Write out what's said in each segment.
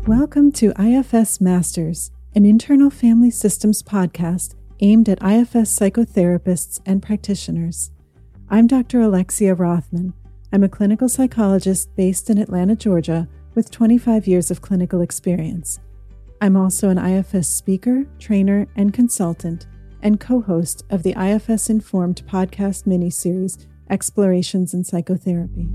Welcome to IFS Masters, an internal family systems podcast aimed at IFS psychotherapists and practitioners. I'm Dr. Alexia Rothman. I'm a clinical psychologist based in Atlanta, Georgia, with 25 years of clinical experience. I'm also an IFS speaker, trainer, and consultant, and co-host of the IFS Informed podcast miniseries, Explorations in Psychotherapy.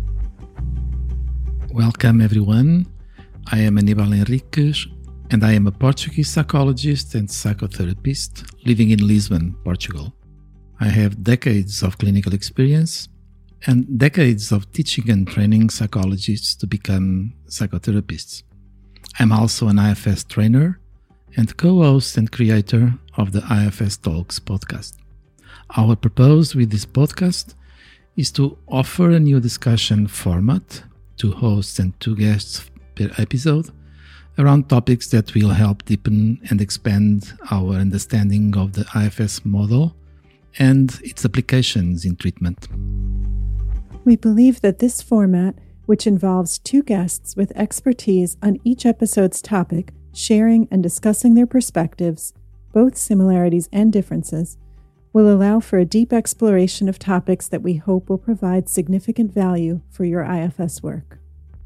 Welcome, everyone. I am Aníbal Henriques, and I am a Portuguese psychologist and psychotherapist living in Lisbon, Portugal. I have decades of clinical experience and decades of teaching and training psychologists to become psychotherapists. I'm also an IFS trainer and co-host and creator of the IFS Talks podcast. Our purpose with this podcast is to offer a new discussion format, 2 hosts and 2 guests per episode, around topics that will help deepen and expand our understanding of the IFS model and its applications in treatment. We believe that this format, which involves 2 guests with expertise on each episode's topic, sharing and discussing their perspectives, both similarities and differences, will allow for a deep exploration of topics that we hope will provide significant value for your IFS work.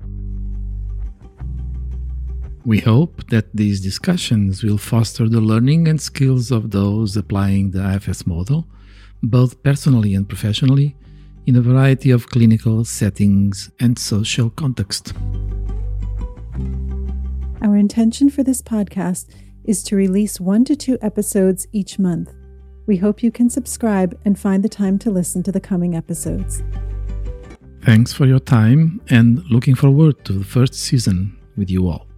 We hope that these discussions will foster the learning and skills of those applying the IFS model, both personally and professionally, in a variety of clinical settings and social context. Our intention for this podcast is to release 1 to 2 episodes each month. We hope you can subscribe and find the time to listen to the coming episodes. Thanks for your time and looking forward to the first season with you all.